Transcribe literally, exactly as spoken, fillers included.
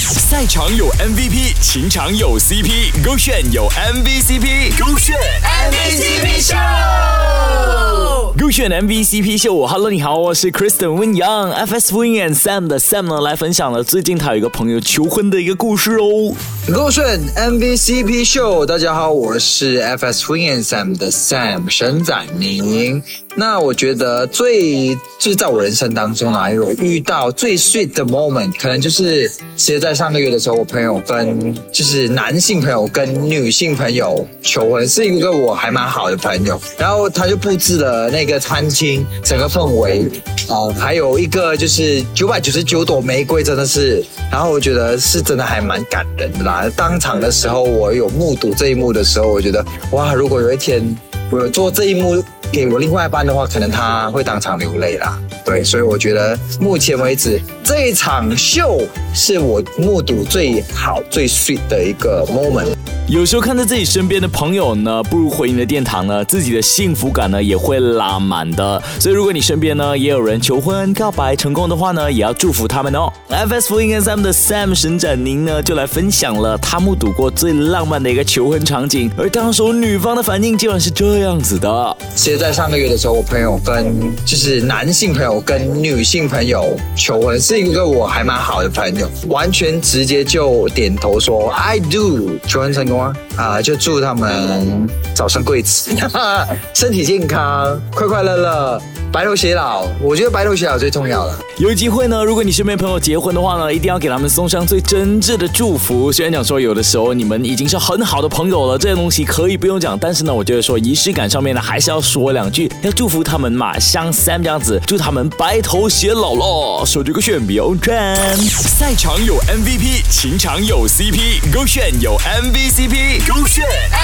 赛场有 M V P， 情场有 C P， 勾选有 M V C P， 勾选 M V C P 秀，勾选 M V C P 秀。Hello， 你好，我是 Kristen Win Young，F S Win and Sam 的 Sam 呢来分享了最近他有一个朋友求婚的一个故事哦。 勾选 M V C P 秀，大家好，我是 F S Win and Sam 的 Sam 沈展宁。那我觉得最就是在我人生当中啊，有遇到最 sweet 的 moment， 可能就是其实在上个月的时候，我朋友跟就是男性朋友跟女性朋友求婚，是一个我还蛮好的朋友，然后他就布置了那个餐厅，整个氛围啊、呃，还有一个就是九百九十九朵玫瑰，真的是，然后我觉得是真的还蛮感人的啦。当场的时候，我有目睹这一幕的时候，我觉得哇，如果有一天我有做这一幕给我另外一半的话，可能他会当场流泪啦。对，所以我觉得目前为止这一场秀是我目睹最好最 sweet 的一个 moment。 有时候看着自己身边的朋友呢步入婚姻的殿堂呢，自己的幸福感呢也会拉满的。所以如果你身边呢也有人求婚告白成功的话呢，也要祝福他们哦。F S Win and Sam 的 Sam 沈展宁呢就来分享了他目睹过最浪漫的一个求婚场景，而当时女方的反应竟然是这样子的。 其实在上个月的时候，我朋友跟就是男性朋友跟女性朋友求婚，是一个我还蛮好的朋友，完全直接就点头说 I do， 求婚成功啊、呃！就祝他们早生贵子，身体健康，快快乐乐，白头偕老。我觉得白头偕老最重要了。 有机会呢，如果你身边朋友结婚的话呢，一定要给他们送上最真挚的祝福。虽然讲说有的时候你们已经是很好的朋友了，这些东西可以不用讲，但是呢，我觉得说仪式感上面呢，还是要说两句，要祝福他们嘛，像 Sam 这样子，祝他们白头偕老咯。手这个选标站，赛场有 M V P， 情场有 C P， 勾选有 M V C P， 勾选